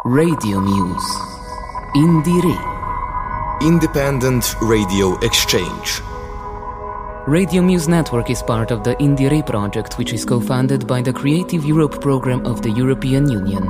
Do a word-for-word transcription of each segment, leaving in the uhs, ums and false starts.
Radio Muse. Indire. Independent Radio Exchange. Radio Muse Network is part of the Indire project, which is co-funded by the Creative Europe program of the European Union.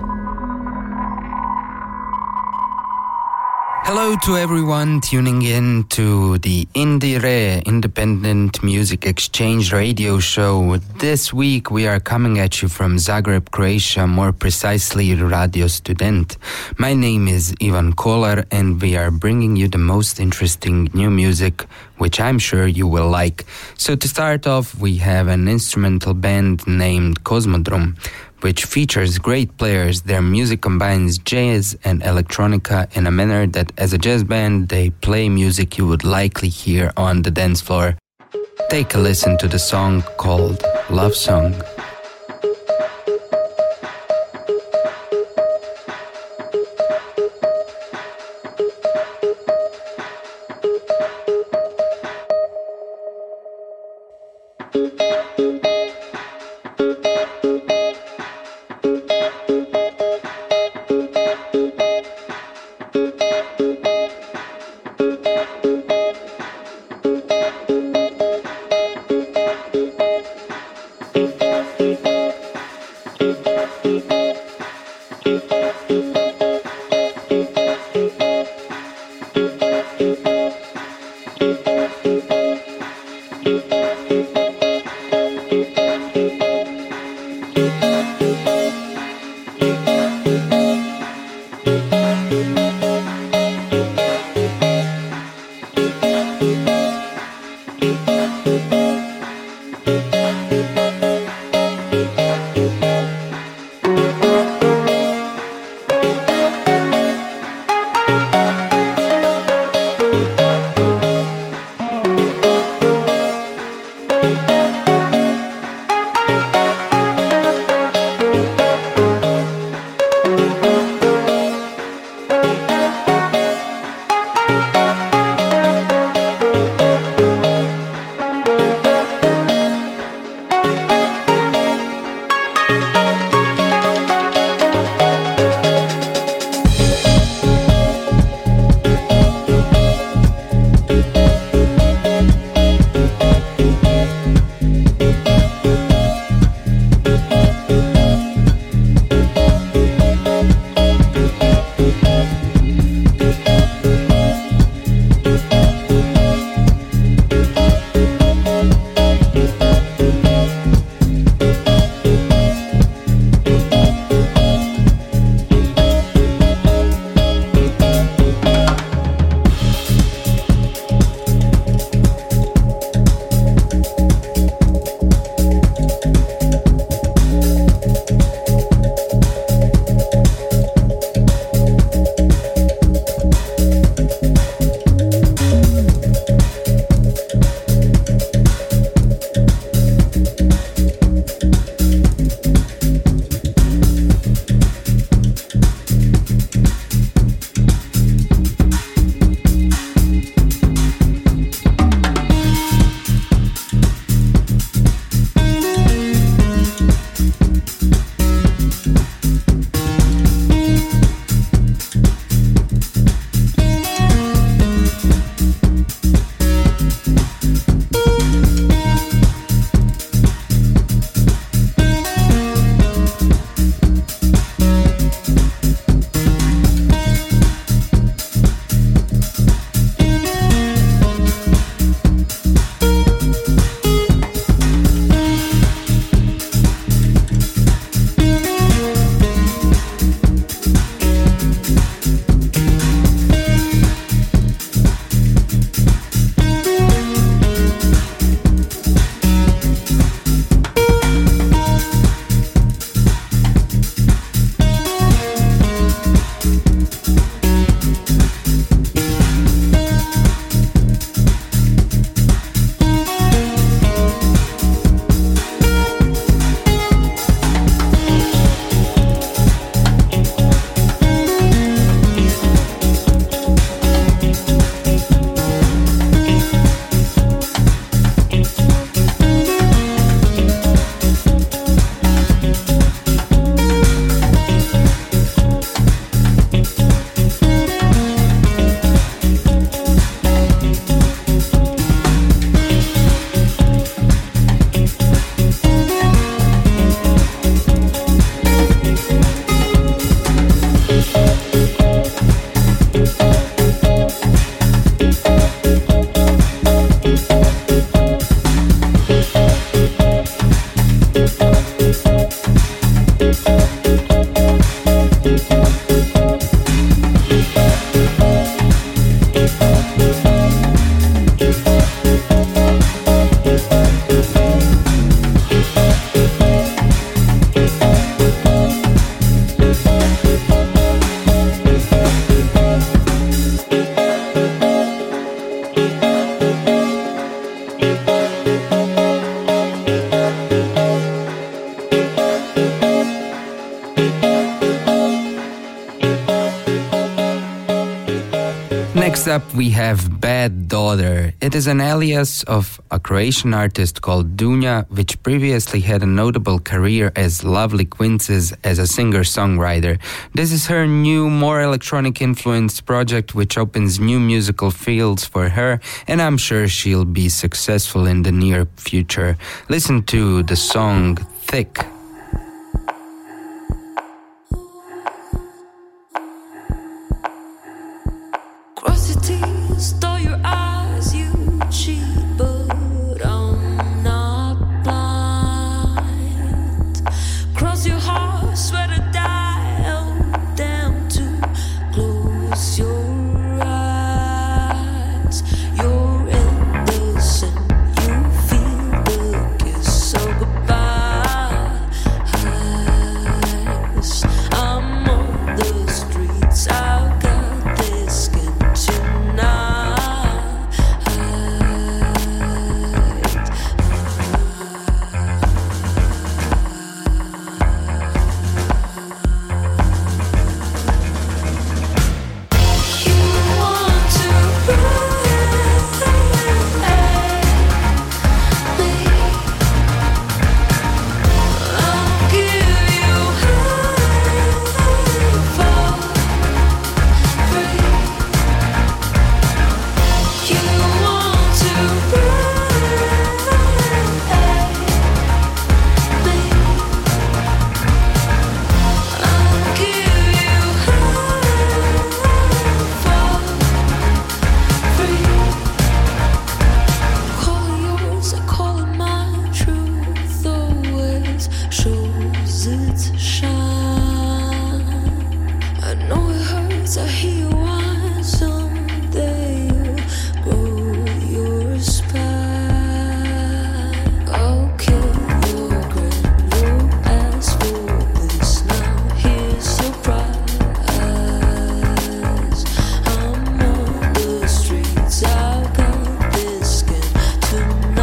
Hello to everyone tuning in to the Indire Independent Music Exchange radio show. This week we are coming at you from Zagreb, Croatia, more precisely Radio Student. My name is Ivan Kolar and we are bringing you the most interesting new music, which I'm sure you will like. So to start off, we have an instrumental band named Cosmodrom, which features great players. Their music combines jazz and electronica in a manner that as a jazz band, they play music you would likely hear on the dance floor. Take a listen to the song called Love Song. Thank you. Next up, we have Bad Daughter. It is an alias of a Croatian artist called Dunja, which previously had a notable career as Lovely Quinces as a singer-songwriter. This is her new, more electronic-influenced project, which opens new musical fields for her, and I'm sure she'll be successful in the near future. Listen to the song Thick. Stole your eyes, you cheat, but I'm not blind. Cross your heart, swear to die, held down to close your eyes. You're innocent, you feel the kiss of goodbye. I'm on the streets, I've got this skin tonight.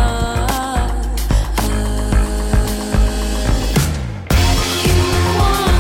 You want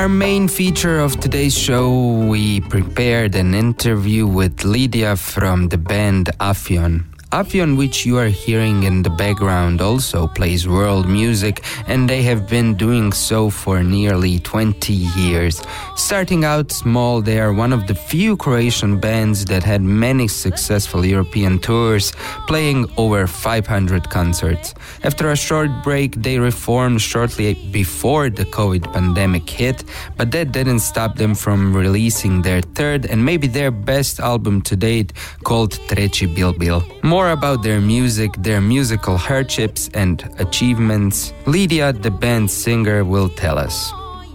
main feature of today's show, we prepared an interview with Lydia from the band Afyon. Afyon, which you are hearing in the background, also plays world music, and they have been doing so for nearly twenty years. Starting out small, they are one of the few Croatian bands that had many successful European tours, playing over five hundred concerts. After a short break, they reformed shortly before the COVID pandemic hit, but that didn't stop them from releasing their third and maybe their best album to date, called Treći Bilbil. More More about their music, their musical hardships and achievements, Lydia, the band's singer, will tell us.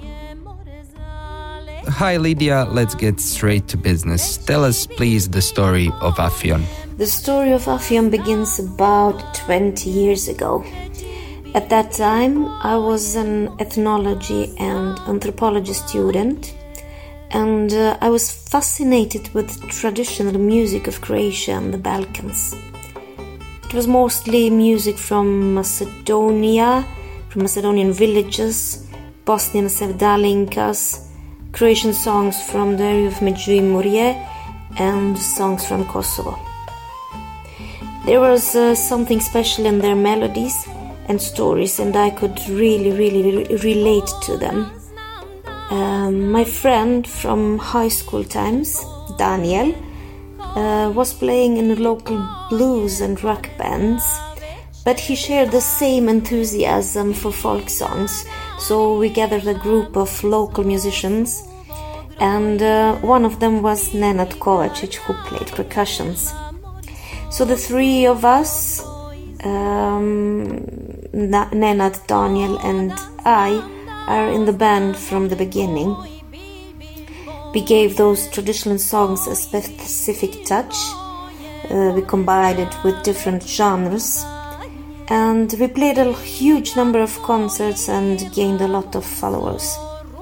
Hi Lydia, let's get straight to business. Tell us please the story of Afyon. The story of Afyon begins about twenty years ago. At that time, I was an ethnology and anthropology student, and uh, I was fascinated with traditional music of Croatia and the Balkans. It was mostly music from Macedonia, from Macedonian villages, Bosnian sevdalinkas, Croatian songs from the area of Međimurje, and songs from Kosovo. There was uh, something special in their melodies and stories, and I could really, really re- relate to them. Um, my friend from high school times, Daniel, uh, was playing in local blues and rock bands, but he shared the same enthusiasm for folk songs, so we gathered a group of local musicians, and uh, one of them was Nenad Kovacic, who played percussions. So the three of us, um, Nenad, Daniel and I, are in the band from the beginning. We gave those traditional songs a specific touch. Uh, we combined it with different genres, and we played a huge number of concerts and gained a lot of followers.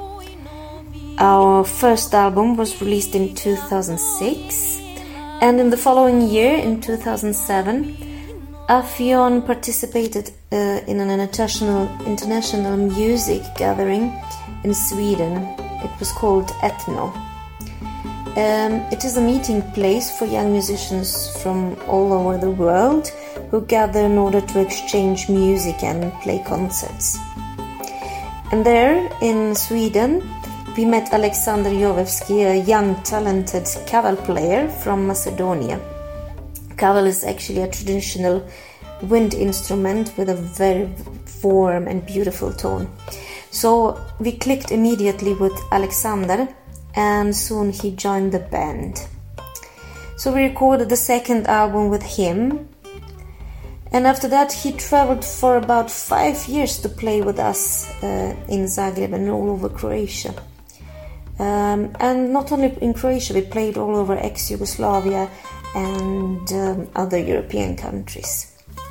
Our first album was released in two thousand six, and in the following year, in two thousand seven, Afyon participated uh, in an international, international music gathering in Sweden. It was called Ethno. Um, it is a meeting place for young musicians from all over the world who gather in order to exchange music and play concerts. And there, in Sweden, we met Alexander Jovevski, a young, talented kaval player from Macedonia. Kaval is actually a traditional wind instrument with a very warm and beautiful tone. So we clicked immediately with Alexander, and soon he joined the band. So we recorded the second album with him, and after that he traveled for about five years to play with us uh, in Zagreb and all over Croatia. Um, and not only in Croatia, we played all over ex-Yugoslavia and um, other European countries.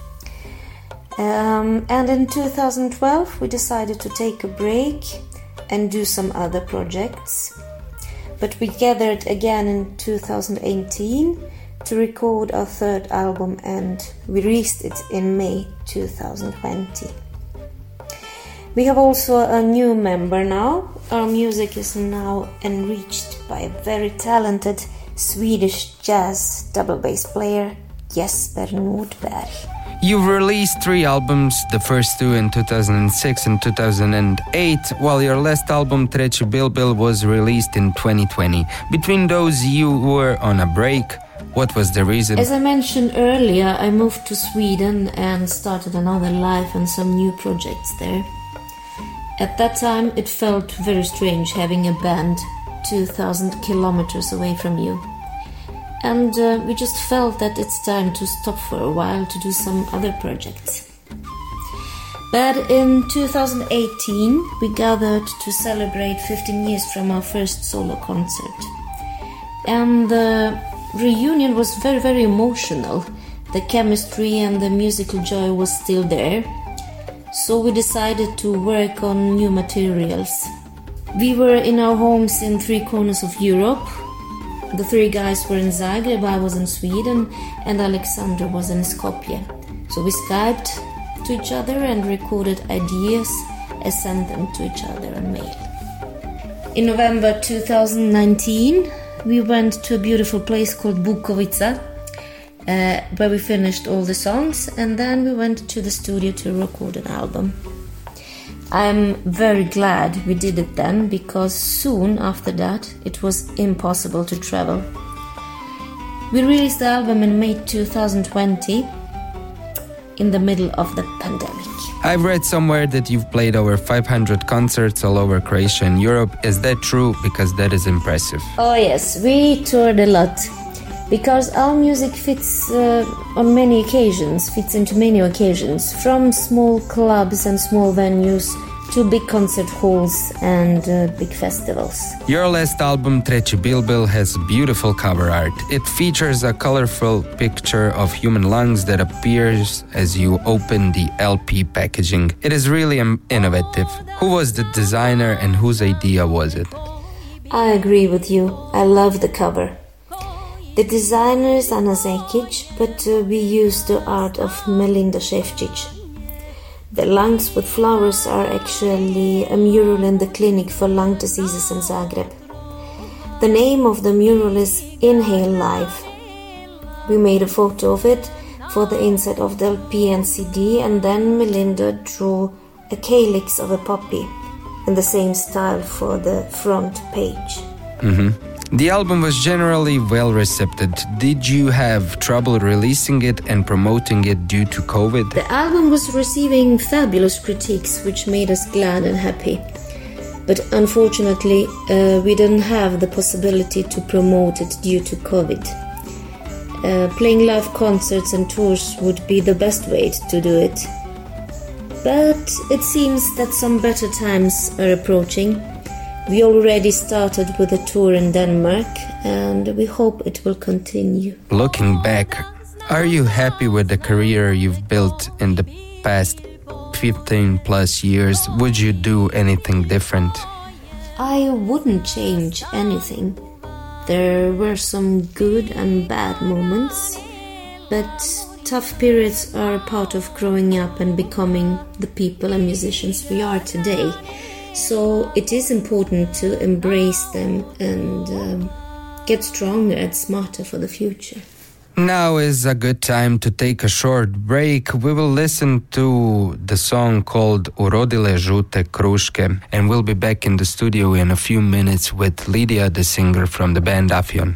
Um, and in two thousand twelve we decided to take a break and do some other projects. But we gathered again in two thousand eighteen to record our third album, and we released it in May two thousand twenty. We have also a new member now. Our music is now enriched by a very talented Swedish jazz double bass player, Jesper Nordberg. You've released three albums, the first two in two thousand six and two thousand eight, while your last album, Treći Bilbil, was released in twenty twenty. Between those, you were on a break. What was the reason? As I mentioned earlier, I moved to Sweden and started another life and some new projects there. At that time, it felt very strange having a band two thousand kilometers away from you. And uh, we just felt that it's time to stop for a while to do some other projects. But in two thousand eighteen, we gathered to celebrate fifteen years from our first solo concert. And the reunion was very, very emotional. The chemistry and the musical joy was still there. So we decided to work on new materials. We were in our homes in three corners of Europe. The three guys were in Zagreb, I was in Sweden, and Alexander was in Skopje. So we Skyped to each other and recorded ideas and sent them to each other on mail. In November two thousand nineteen, we went to a beautiful place called Bukovica, uh, where we finished all the songs, and then we went to the studio to record an album. I'm very glad we did it then, because soon after that it was impossible to travel. We released the album in May two thousand twenty, in the middle of the pandemic. I've read somewhere that you've played over five hundred concerts all over Croatia and Europe. Is that true? Because that is impressive. Oh yes, we toured a lot. Because our music fits uh, on many occasions, fits into many occasions, from small clubs and small venues to big concert halls and uh, big festivals. Your last album, Treći Bilbil, has beautiful cover art. It features a colorful picture of human lungs that appears as you open the L P packaging. It is really um, innovative. Who was the designer and whose idea was it? I agree with you. I love the cover. The designer is Ana Zekic, but uh, we used the art of Melinda Šefčić. The lungs with flowers are actually a mural in the clinic for lung diseases in Zagreb. The name of the mural is Inhale Life. We made a photo of it for the inside of the L P and C D, and then Melinda drew a calyx of a poppy in the same style for the front page. Mm-hmm. The album was generally well received. Did you have trouble releasing it and promoting it due to COVID? The album was receiving fabulous critiques, which made us glad and happy. But unfortunately, uh, we didn't have the possibility to promote it due to COVID. Uh, playing live concerts and tours would be the best way to do it. But it seems that some better times are approaching. We already started with a tour in Denmark, and we hope it will continue. Looking back, are you happy with the career you've built in the past fifteen plus years? Would you do anything different? I wouldn't change anything. There were some good and bad moments, but tough periods are a part of growing up and becoming the people and musicians we are today. So it is important to embrace them and um, get stronger and smarter for the future. Now is a good time to take a short break. We will listen to the song called Urodile žute kruške, and we'll be back in the studio in a few minutes with Lydia, the singer from the band Afion.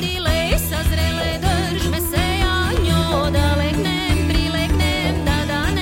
Sazrele drž me se ja njo, da legnem, prilegnem, da da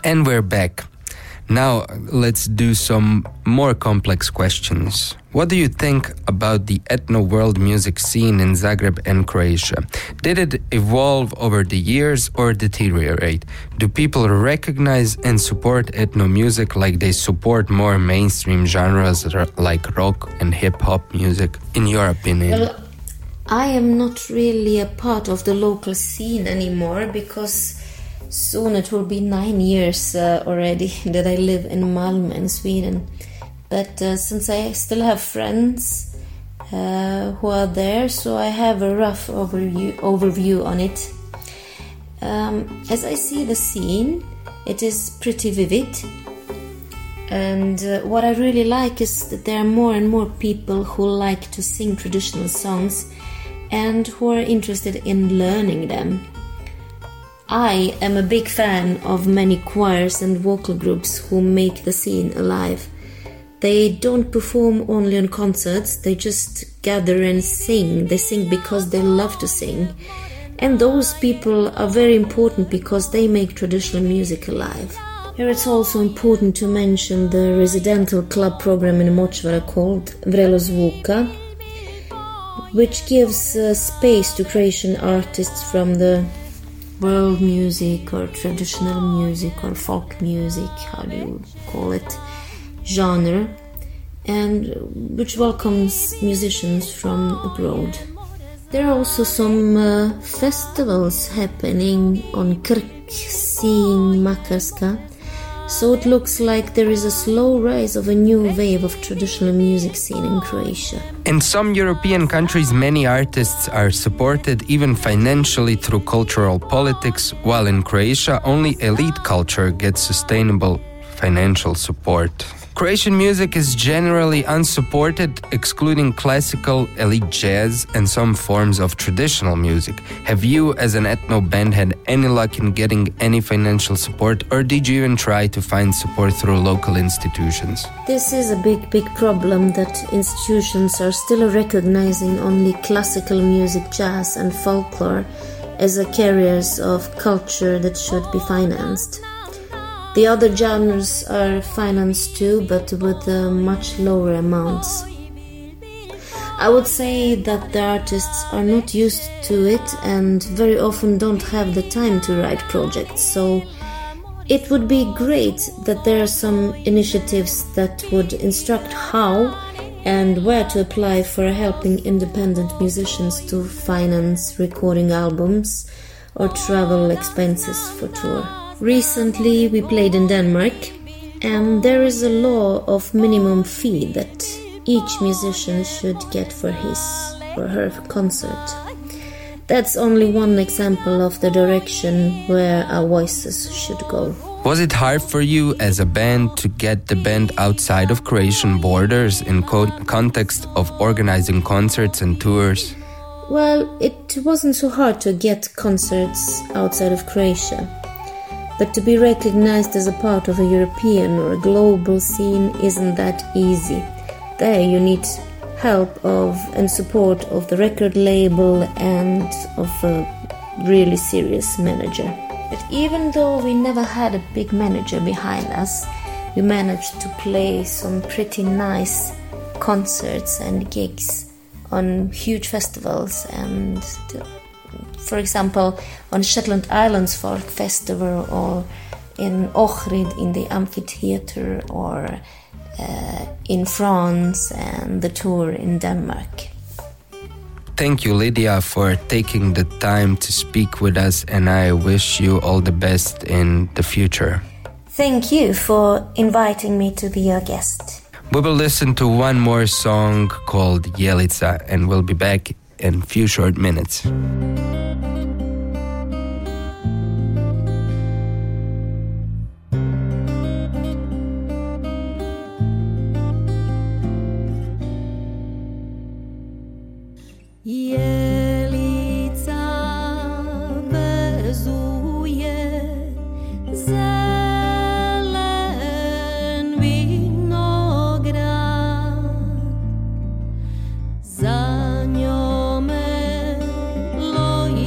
And we're back. Now, let's do some more complex questions. What do you think about the ethno-world music scene in Zagreb and Croatia? Did it evolve over the years or deteriorate? Do people recognize and support ethno music like they support more mainstream genres like rock and hip-hop music, in your opinion? Well, I am not really a part of the local scene anymore because soon it will be nine years uh, already that I live in Malmö in Sweden. But uh, since I still have friends uh, who are there, so I have a rough overview, overview on it. Um, as I see the scene, it is pretty vivid. And uh, what I really like is that there are more and more people who like to sing traditional songs and who are interested in learning them. I am a big fan of many choirs and vocal groups who make the scene alive. They don't perform only on concerts, they just gather and sing. They sing because they love to sing. And those people are very important because they make traditional music alive. Here it's also important to mention the residential club program in Močvara called Vrelo Zvuka, which gives uh, space to Croatian artists from the world music or traditional music or folk music, how do you call it, genre, and which welcomes musicians from abroad. There are also some uh, festivals happening on Krk, Sinj, Makarska, so it looks like there is a slow rise of a new wave of traditional music scene in Croatia. In some European countries, many artists are supported even financially through cultural politics, while in Croatia, only elite culture gets sustainable financial support. Croatian music is generally unsupported, excluding classical, elite jazz, and some forms of traditional music. Have you, as an ethno band, had any luck in getting any financial support, or did you even try to find support through local institutions? This is a big, big problem that institutions are still recognizing only classical music, jazz, and folklore as a carriers of culture that should be financed. The other genres are financed too, but with uh, much lower amounts. I would say that the artists are not used to it and very often don't have the time to write projects, so it would be great that there are some initiatives that would instruct how and where to apply for helping independent musicians to finance recording albums or travel expenses for tour. Recently we played in Denmark, and there is a law of minimum fee that each musician should get for his or her concert. That's only one example of the direction where our voices should go. Was it hard for you as a band to get the band outside of Croatian borders in co- context of organizing concerts and tours? Well, it wasn't so hard to get concerts outside of Croatia. But to be recognized as a part of a European or a global scene isn't that easy. There you need help of and support of the record label and of a really serious manager. But even though we never had a big manager behind us, we managed to play some pretty nice concerts and gigs on huge festivals, and for example, on Shetland Islands Folk Festival, or in Ohrid in the amphitheater, or uh, in France and the tour in Denmark. Thank you, Lydia, for taking the time to speak with us, and I wish you all the best in the future. Thank you for inviting me to be your guest. We will listen to one more song called Jelica, and we'll be back in a few short minutes. Za njome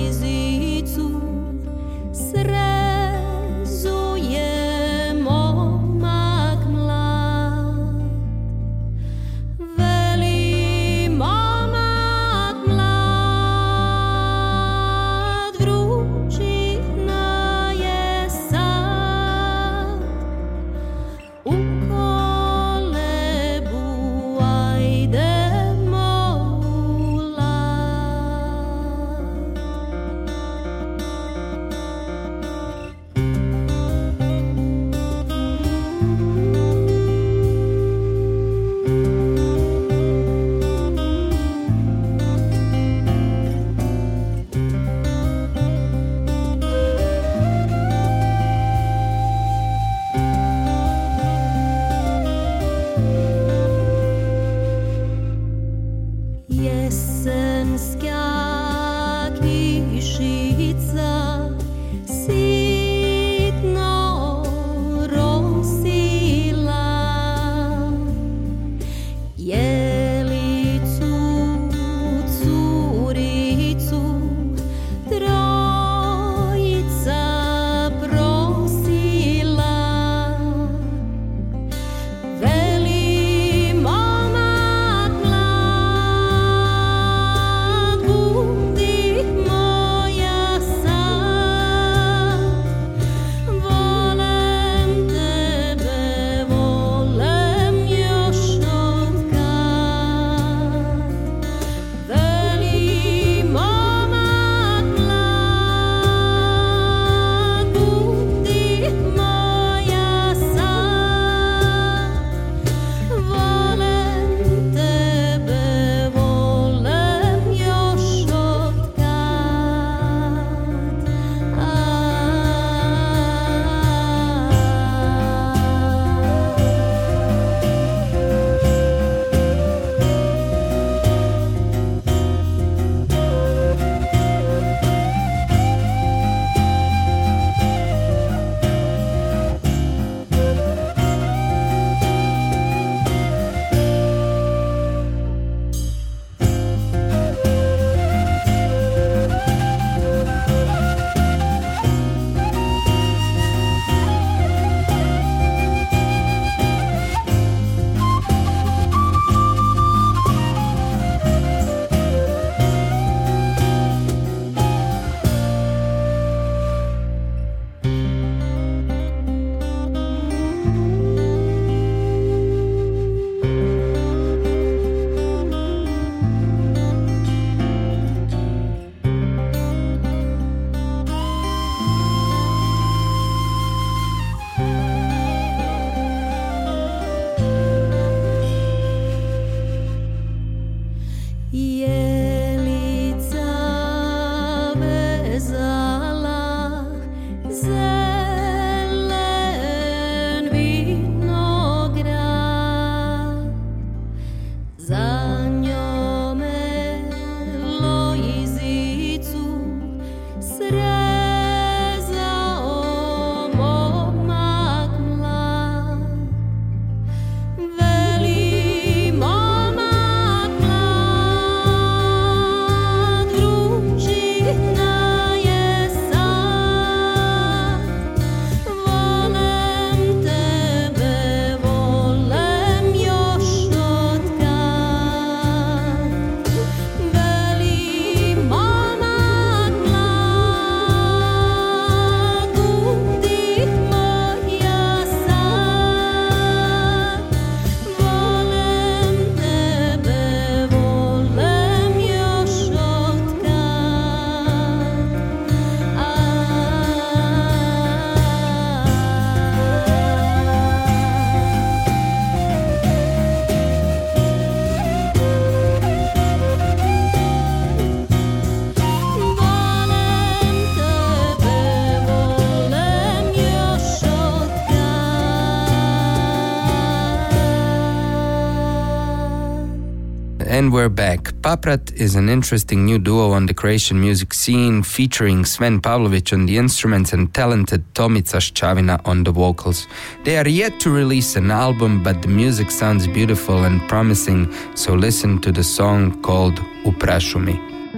And we're back. Paprat is an interesting new duo on the Croatian music scene, featuring Sven Pavlovic on the instruments and talented Tomica Ščavina on the vocals. They are yet to release an album, but the music sounds beautiful and promising, so listen to the song called Uprašu mi.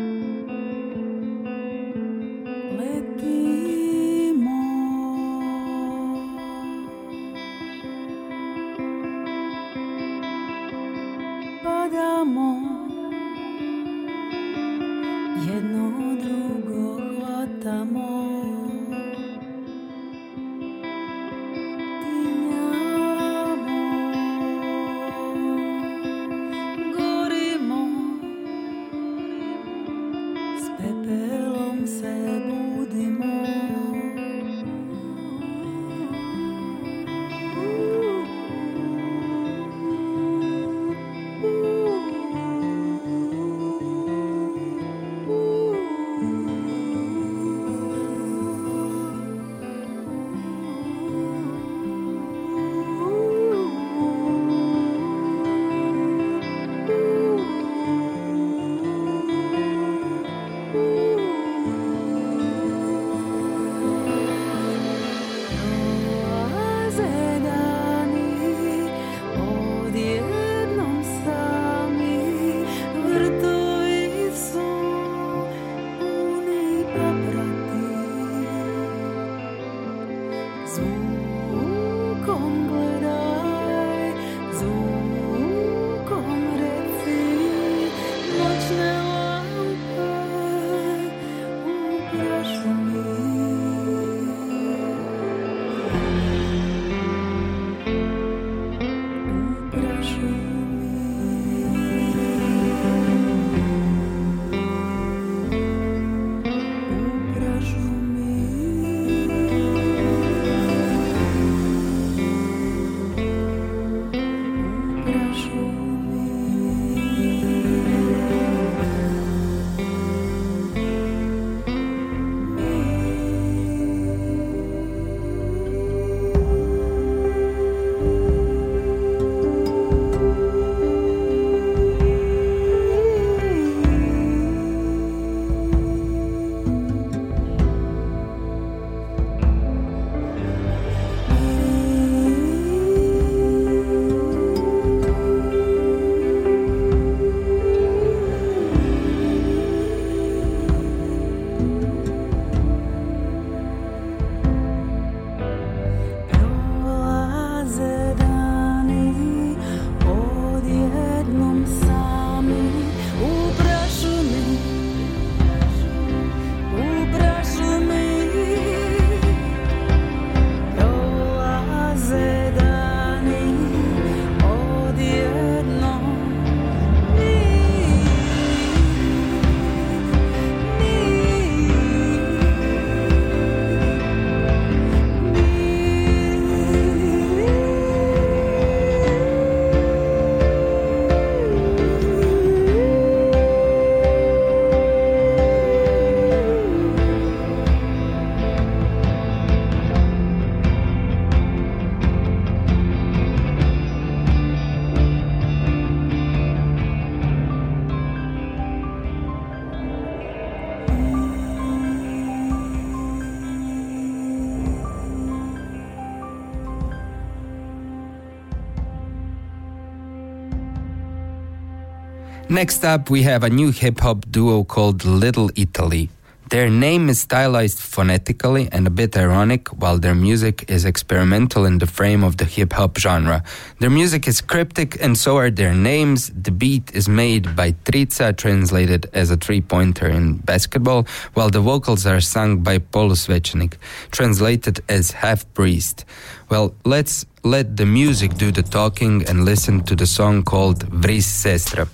Next up, we have a new hip-hop duo called Little Italy. Their name is stylized phonetically and a bit ironic, while their music is experimental in the frame of the hip-hop genre. Their music is cryptic, and so are their names. The beat is made by Trica, translated as a three-pointer in basketball, while the vocals are sung by Polusvećenik, translated as half-priest. Well, let's let the music do the talking and listen to the song called Vris Sestra.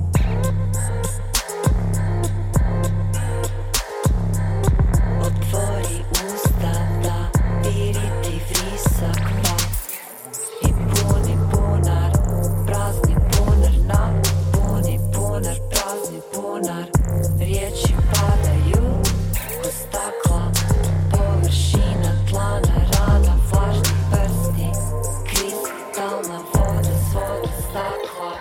Otvori Riječi padaju u stakla, površina tlana, rada vlažnih prsti, kristalna voda svoda stakla.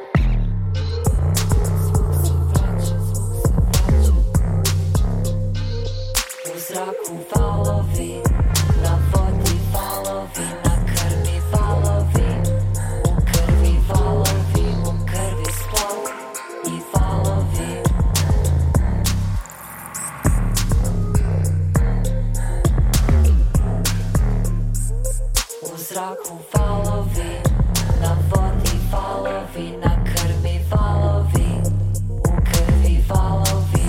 U zraku valovi, na vodi valovi, na krvi valovi, u krvi valovi, u krvi splav i valovi. U zraku valovi, na vodi valovi, na krvi valovi, u krvi valovi.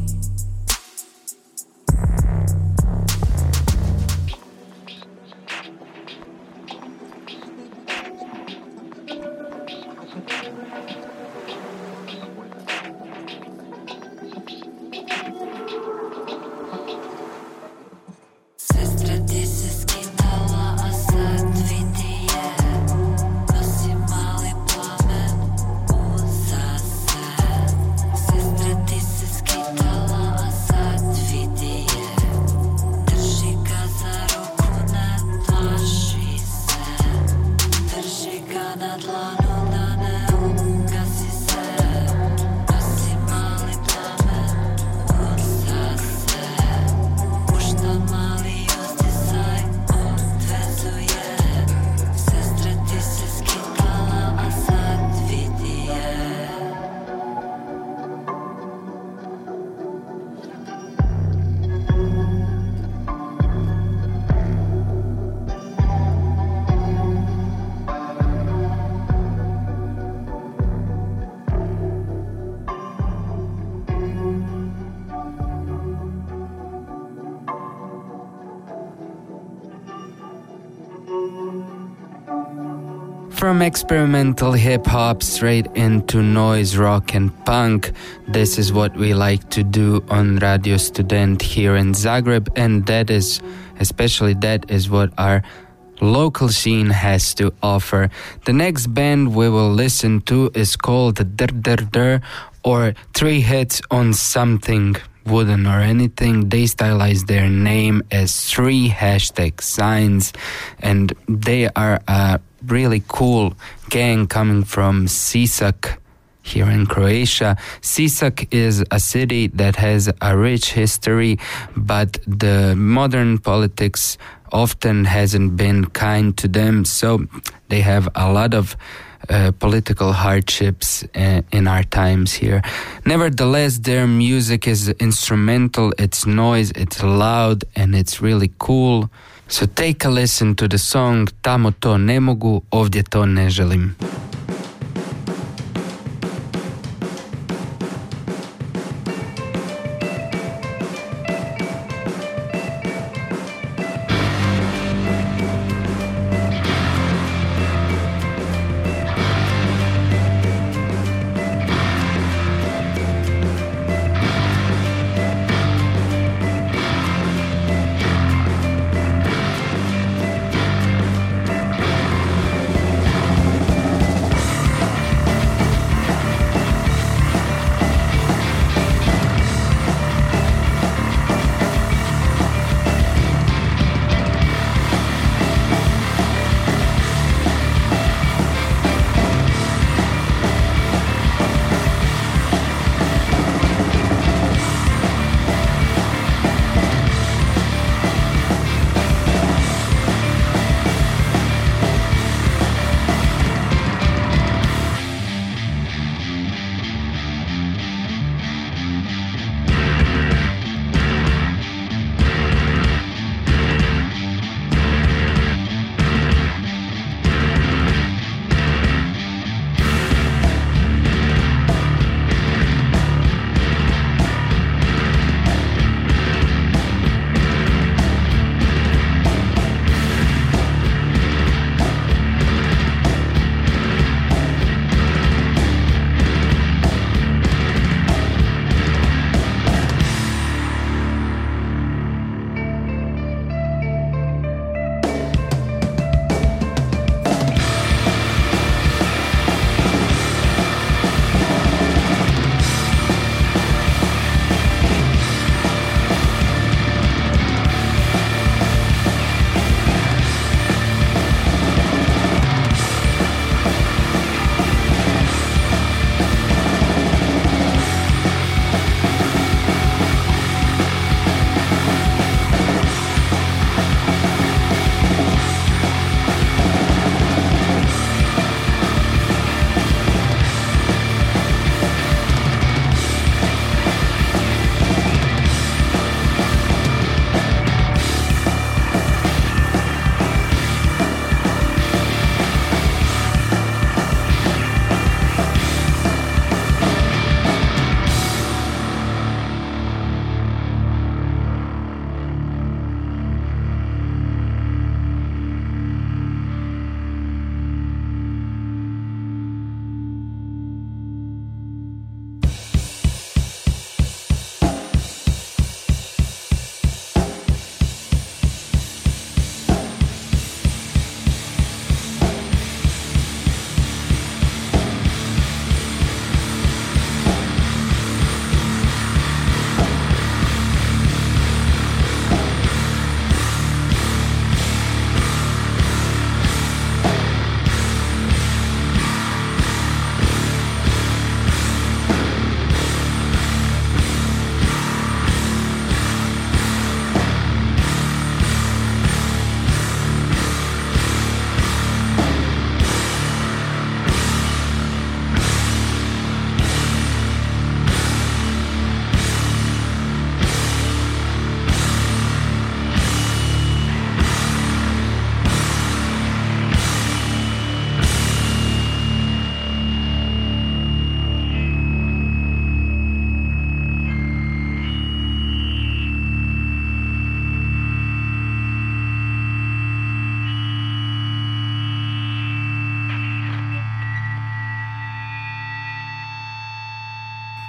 Sestra ti se skidala, a sad vidi je, nosi mali plamen uza se. Sestra ti se skidala, a sad vidi je, drži ga za ruku, ne plaši se. Drži ga na dlanu, da ne ugasi se. Nosi mali plamen uza se. Pušta mali uzdisaj, odvezuje. Sestra ti se skidala, a sad vidi je. From experimental hip-hop straight into noise, rock and punk, this is what we like to do on Radio Student here in Zagreb, and that is, especially that is what our local scene has to offer. The next band we will listen to is called Der Der Der, or Three Hits on Something Wooden or Anything. They stylize their name as three hashtag signs, and they are a really cool gang coming from Sisak here in Croatia. Sisak is a city that has a rich history, but the modern politics often hasn't been kind to them, so they have a lot of uh, political hardships uh, in our times here. Nevertheless, their music is instrumental, it's noise, it's loud, and it's really cool. So take a listen to the song Tamo to ne mogu, ovdje to ne želim.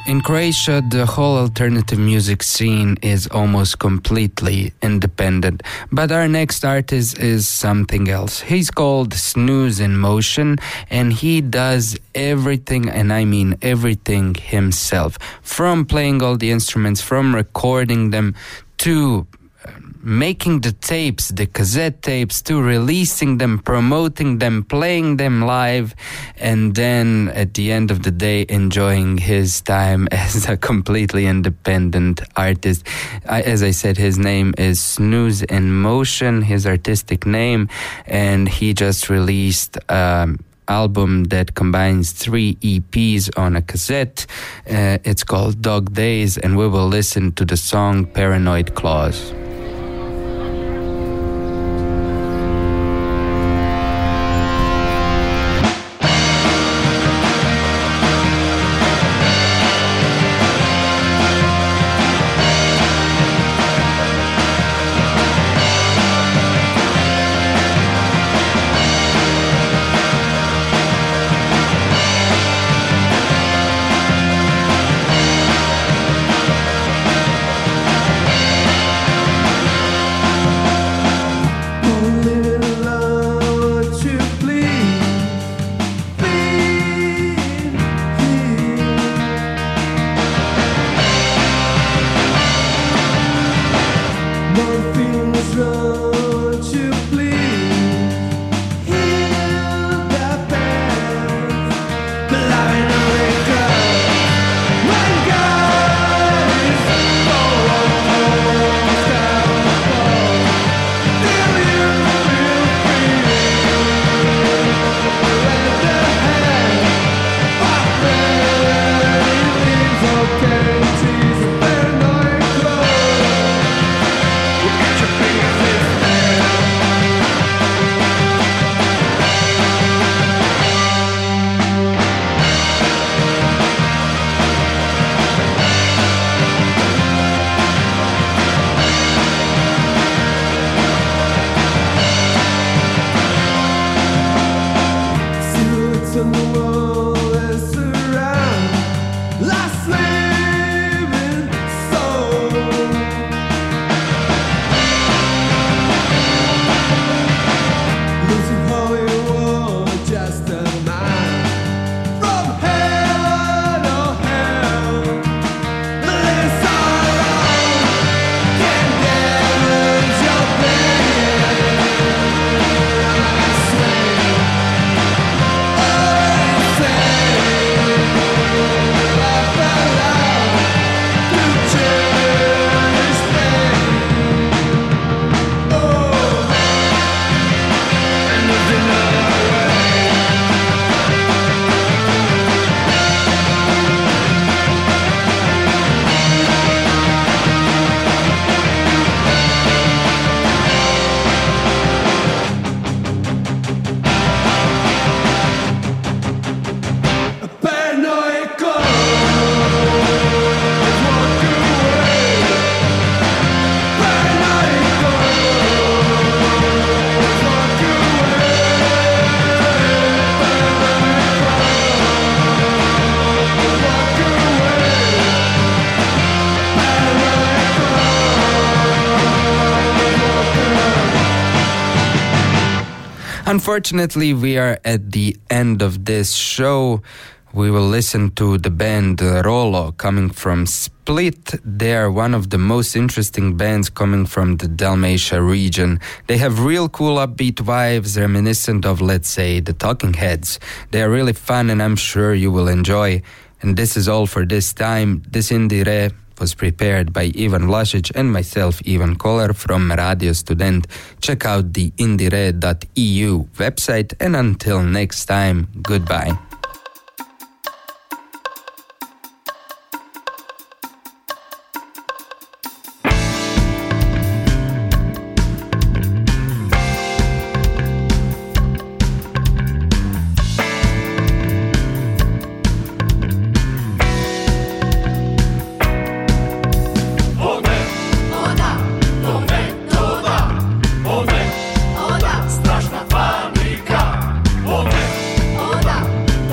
In Croatia, the whole alternative music scene is almost completely independent. But our next artist is something else. He's called Snooze in Motion, and he does everything, and I mean everything himself. From playing all the instruments, from recording them, to making the tapes, the cassette tapes, to releasing them, promoting them, playing them live, and then at the end of the day enjoying his time as a completely independent artist. I, as I said, his name is Snooze in Motion, his artistic name, and he just released um, album that combines three E Ps on a cassette. Uh, it's called Dog Days, and we will listen to the song Paranoid Claws. Unfortunately, we are at the end of this show. We will listen to the band Rolo coming from Split. They are one of the most interesting bands coming from the Dalmatia region. They have real cool upbeat vibes reminiscent of, let's say, the Talking Heads. They are really fun and I'm sure you will enjoy. And this is all for this time. This Indie Re was prepared by Ivan Vlasic and myself, Ivan Kolar from Radio Student. Check out the indire dot e u website, and until next time, goodbye. Straszna panika. One, ona,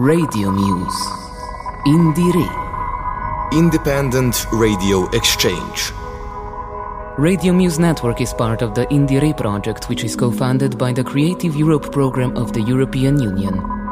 Radio Muse. Indire. Independent Radio Exchange. Radio Muse Network is part of the Indire project, which is co-funded by the Creative Europe program of the European Union.